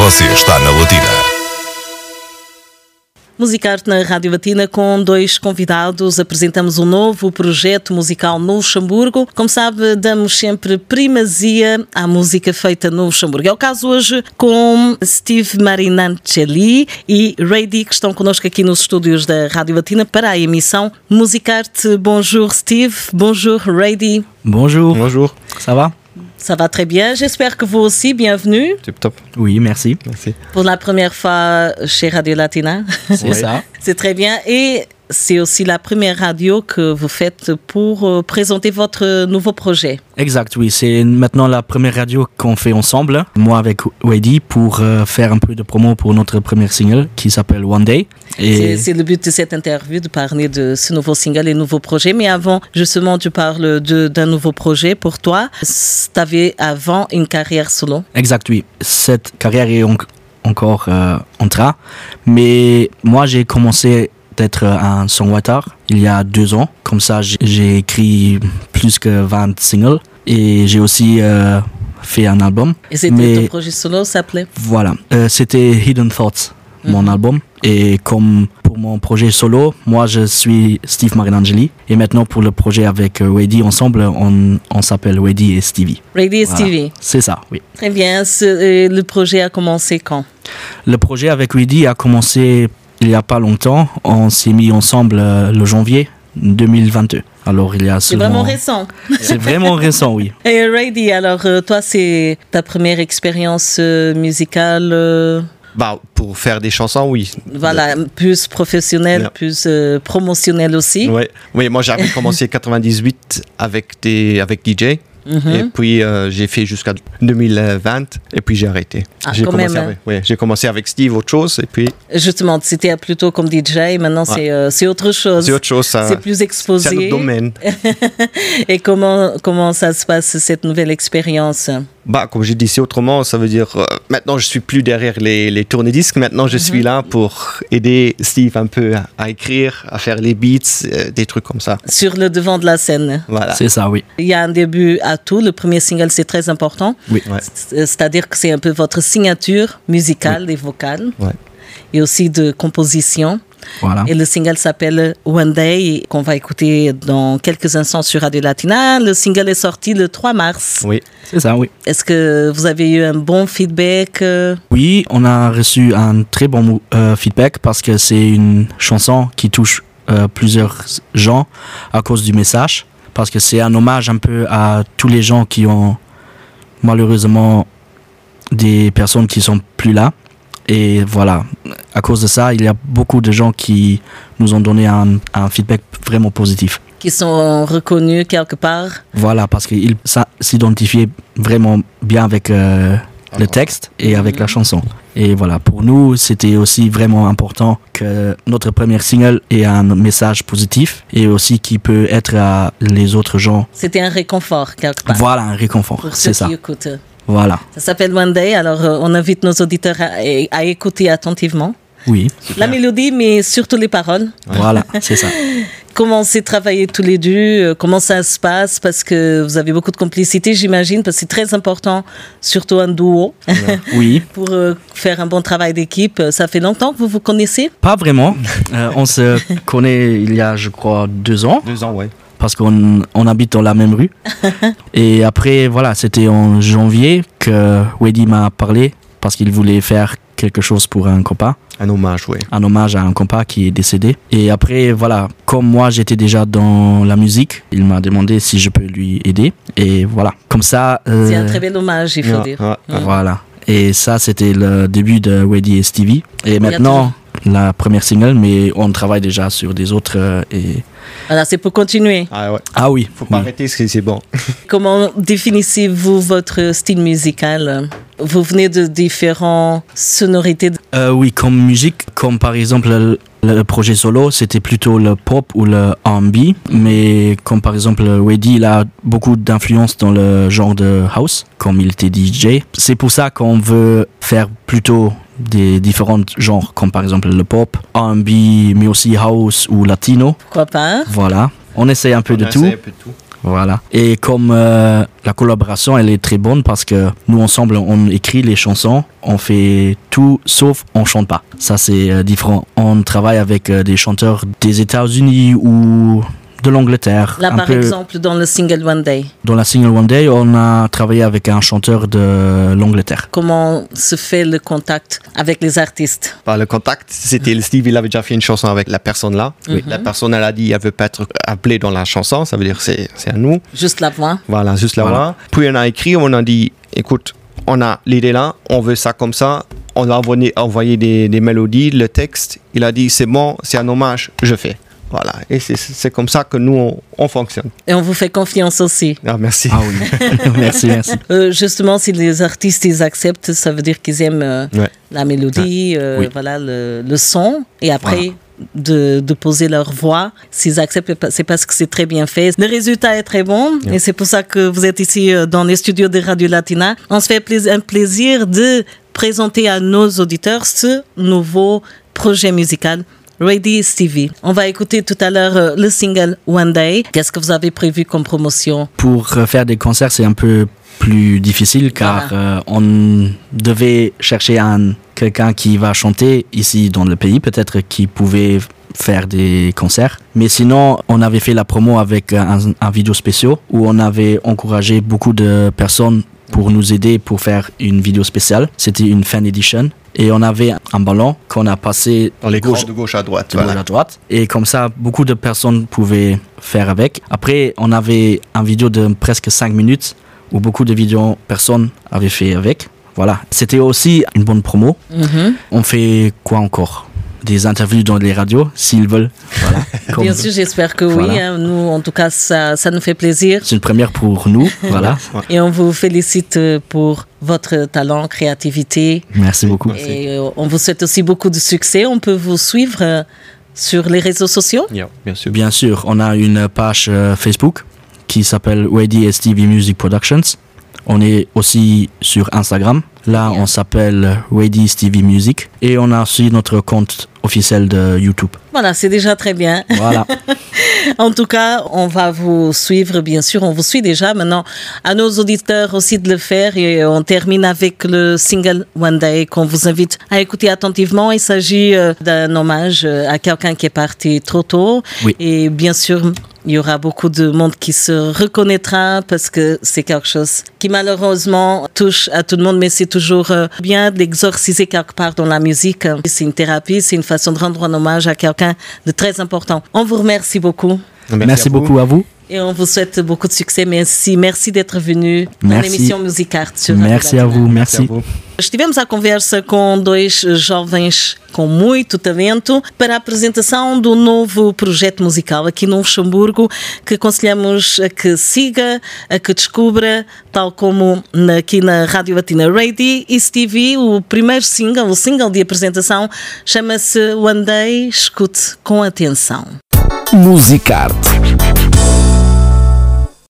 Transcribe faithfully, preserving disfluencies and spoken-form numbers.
Você está na Latina. Musicarte na Rádio Latina com dois convidados. Apresentamos um novo projeto musical no Luxemburgo. Como sabe, damos sempre primazia à música feita no Luxemburgo. É o caso hoje com Steve Marinancelli e Rady, que estão connosco aqui nos estúdios da Rádio Latina para a emissão Musicarte. Bonjour Steve, bonjour Rady. Bonjour. Bonjour. Ça va? Ça va très bien. J'espère que vous aussi, bienvenue. Tip top. Oui, merci. Merci. Pour la première fois chez Radio Latina. C'est Oui. ça. C'est très bien. Et c'est aussi la première radio que vous faites pour euh, présenter votre nouveau projet. Exact, oui. C'est maintenant la première radio qu'on fait ensemble, moi avec Wady, pour euh, faire un peu de promo pour notre premier single qui s'appelle One Day. Et C'est, c'est le but de cette interview, de parler de ce nouveau single et nouveau projet. Mais avant, justement, tu parles de, d'un nouveau projet pour toi. Tu avais avant une carrière solo. Exact, oui. Cette carrière est en- encore euh, en train. Mais moi, j'ai commencé d'être un songwriter il y a deux ans. Comme ça, j'ai, j'ai écrit plus que vingt singles. Et j'ai aussi euh, fait un album. Et c'était Mais- ton projet solo, s'appelait Voilà, Euh, c'était Hidden Thoughts, mon Mhm. album. Et comme pour mon projet solo, moi je suis Steve Marinangeli. Et maintenant pour le projet avec euh, Wady ensemble, on, on s'appelle Wady et Stevie. Rady et Voilà. Stevie. C'est ça, oui. Très bien. Ce- euh, le projet a commencé quand? Le projet avec Wady a commencé il n'y a pas longtemps. On s'est mis ensemble euh, le janvier deux mille vingt-deux. Alors il y a C'est seulement... vraiment récent. C'est vraiment récent, oui. Et Rady, alors euh, toi, c'est ta première expérience euh, musicale, euh, Bah, pour faire des chansons, oui. voilà, plus professionnelle, Yeah. plus euh, promotionnelle aussi. Ouais. Oui, moi j'avais commencé en quatre-vingt-dix-huit avec, des, avec D J. Mhm. Et puis euh, j'ai fait jusqu'à deux mille vingt et puis j'ai arrêté. Ah, j'ai, quand commencé même, avec, ouais, j'ai commencé avec Steve, autre chose, et puis Justement, c'était plutôt comme D J, maintenant c'est, euh, c'est autre chose. c'est autre chose. Ça, C'est plus c'est un exposé. autre domaine. Et comment, comment ça se passe, cette nouvelle expérience? Bah, comme j'ai dit, c'est autrement, ça veut dire euh, maintenant je suis plus derrière les, les tourne-disques, maintenant je suis là pour aider Steve un peu à, à écrire, à faire les beats, euh, des trucs comme ça. Sur le devant de la scène. Voilà. C'est ça, oui. Il y a un début à tout. Le premier single, c'est très important. Oui. Ouais. C'est- C'est-à-dire que c'est un peu votre signature musicale et vocale. Ouais. Et aussi de composition. Voilà. Et le single s'appelle One Day, qu'on va écouter dans quelques instants sur Radio Latina. Le single est sorti le trois mars. Oui. C'est ça, oui. Est-ce que vous avez eu un bon feedback? euh, Oui, on a reçu un très bon mou- euh, feedback parce que c'est une chanson qui touche euh, plusieurs gens à cause du message. Parce que c'est un hommage un peu à tous les gens qui ont malheureusement des personnes qui sont plus là. Et voilà, à cause de ça, il y a beaucoup de gens qui nous ont donné un, un feedback vraiment positif. qui sont reconnus quelque part? Voilà, parce qu'ils sa- s'identifiaient vraiment bien avec euh, le texte et avec la chanson. Et voilà, pour nous, c'était aussi vraiment important que notre premier single ait un message positif et aussi qui peut être à les autres gens. C'était un réconfort quelque part. Voilà, un réconfort, Pour ceux c'est ça. qui écoutent. Voilà, Ça s'appelle One Day, alors euh, on invite nos auditeurs à, à écouter attentivement oui, la mélodie, mais surtout les paroles. voilà, c'est ça. Comment c'est travaillé tous les deux, euh, comment ça se passe, parce que vous avez beaucoup de complicité, j'imagine, parce que c'est très important, surtout un duo, Oui, pour euh, faire un bon travail d'équipe. Ça fait longtemps que vous vous connaissez? pas vraiment. Euh, on se connaît il y a, je crois, deux ans. Deux ans, ouais. Parce qu'on on habite dans la même rue. Et après, voilà, c'était en janvier que Wady m'a parlé parce qu'il voulait faire quelque chose pour un copain, Un hommage, ouais. un hommage à un copain qui est décédé. Et après, voilà, comme moi j'étais déjà dans la musique, il m'a demandé si je peux lui aider. Et voilà, comme ça... euh, C'est un très bel hommage, il faut Ouais, dire. ouais, ouais. Voilà. Et ça, c'était le début de Wady et Stevie. Et maintenant, la première single, mais on travaille déjà sur des autres. euh, et... Voilà, c'est pour continuer. Ah ouais. Ah oui, Faut pas oui. arrêter, c'est, c'est bon. Comment définissez-vous votre style musical? Vous venez de différentes sonorités. Euh, oui, comme musique, comme par exemple le, le projet solo, c'était plutôt le pop ou le R and B. Mais comme par exemple Wady, il a beaucoup d'influence dans le genre de house, comme il était D J. C'est pour ça qu'on veut faire plutôt des différents genres, comme par exemple le pop, R and B, mais aussi house ou latino. Pourquoi pas? Voilà, on essaie un peu de On tout. essaie un peu de tout. Voilà. Et comme euh, la collaboration, elle est très bonne parce que nous ensemble, on écrit les chansons, on fait tout sauf on chante pas. Ça c'est euh, différent. On travaille avec euh, des chanteurs des États-Unis ou de l'Angleterre. Là, par peu, exemple, dans le single One Day. Dans la single One Day, on a travaillé avec un chanteur de l'Angleterre. Comment se fait le contact avec les artistes? Par le contact, c'était Steve, il avait déjà fait une chanson avec la personne là. Oui. La personne, elle a dit, elle veut pas être appelée dans la chanson, ça veut dire c'est c'est à nous. Juste la voix. Voilà, juste la voilà. voix. Puis on a écrit, on a dit, écoute, on a l'idée là, on veut ça comme ça. On a envoyé, envoyé des, des mélodies, le texte. Il a dit, c'est bon, c'est un hommage, je fais. Voilà, et c'est, c'est comme ça que nous, on, on fonctionne. Et on vous fait confiance aussi. Ah, merci. Ah oui, merci, merci. Euh, justement, si les artistes ils acceptent, ça veut dire qu'ils aiment euh, ouais. la mélodie, euh, oui. voilà, le, le son, et après... Voilà. De, de poser leur voix. S'ils acceptent, c'est parce que c'est très bien fait. Le résultat est très bon yeah. et c'est pour ça que vous êtes ici dans les studios de Radio Latina. On se fait pla- un plaisir de présenter à nos auditeurs ce nouveau projet musical. Ready Stevie. On va écouter tout à l'heure euh, le single One Day. Qu'est-ce que vous avez prévu comme promotion? Pour faire des concerts, c'est un peu plus difficile car voilà. euh, on devait chercher un, quelqu'un qui va chanter ici dans le pays, peut-être qui pouvait faire des concerts. Mais sinon, on avait fait la promo avec un, un vidéo spécial où on avait encouragé beaucoup de personnes pour nous aider pour faire une vidéo spéciale. C'était une fan edition. Et on avait un ballon qu'on a passé dans les gauche, de gauche à droite. De voilà. gauche à droite. Et comme ça, beaucoup de personnes pouvaient faire avec. Après, on avait un vidéo de presque cinq minutes où beaucoup de vidéos personnes avaient fait avec. Voilà. C'était aussi une bonne promo. Mm-hmm. On fait quoi encore? Des interviews dans les radios, s'ils veulent. Voilà. Comme... Bien sûr, j'espère que voilà. oui. Hein. Nous, en tout cas, ça, ça nous fait plaisir. C'est une première pour nous. Voilà. Et on vous félicite pour votre talent, créativité. Merci beaucoup. Et Merci. On vous souhaite aussi beaucoup de succès. On peut vous suivre sur les réseaux sociaux? Yeah, bien sûr. Bien sûr. On a une page Facebook qui s'appelle Ready Stevie Music Productions. On est aussi sur Instagram. Là, yeah. on s'appelle Ready Stevie Music. Et on a aussi notre compte officiel de YouTube. Voilà, c'est déjà très bien. Voilà. En tout cas, on va vous suivre, bien sûr. On vous suit déjà. Maintenant, à nos auditeurs aussi de le faire. Et on termine avec le single One Day qu'on vous invite à écouter attentivement. Il s'agit d'un hommage à quelqu'un qui est parti trop tôt. Oui. Et bien sûr, il y aura beaucoup de monde qui se reconnaîtra parce que c'est quelque chose qui malheureusement touche à tout le monde, mais c'est toujours bien de l'exorciser quelque part dans la musique. C'est une thérapie, c'est une façon de rendre un hommage à quelqu'un de très important. On vous remercie beaucoup. Merci, Merci à beaucoup à vous. Et on vous souhaite beaucoup de succès. Merci, merci d'être venu na l'émission Musicarte. Merci a vous, merci. merci a vous. Estivemos à conversa com dois jovens com muito talento para a apresentação do novo projeto musical aqui no Luxemburgo, que aconselhamos a que siga, a que descubra, tal como aqui na Rádio Latina. Ready Stevie, o primeiro single, o single de apresentação, chama-se One Day. Escute com atenção. Musicarte.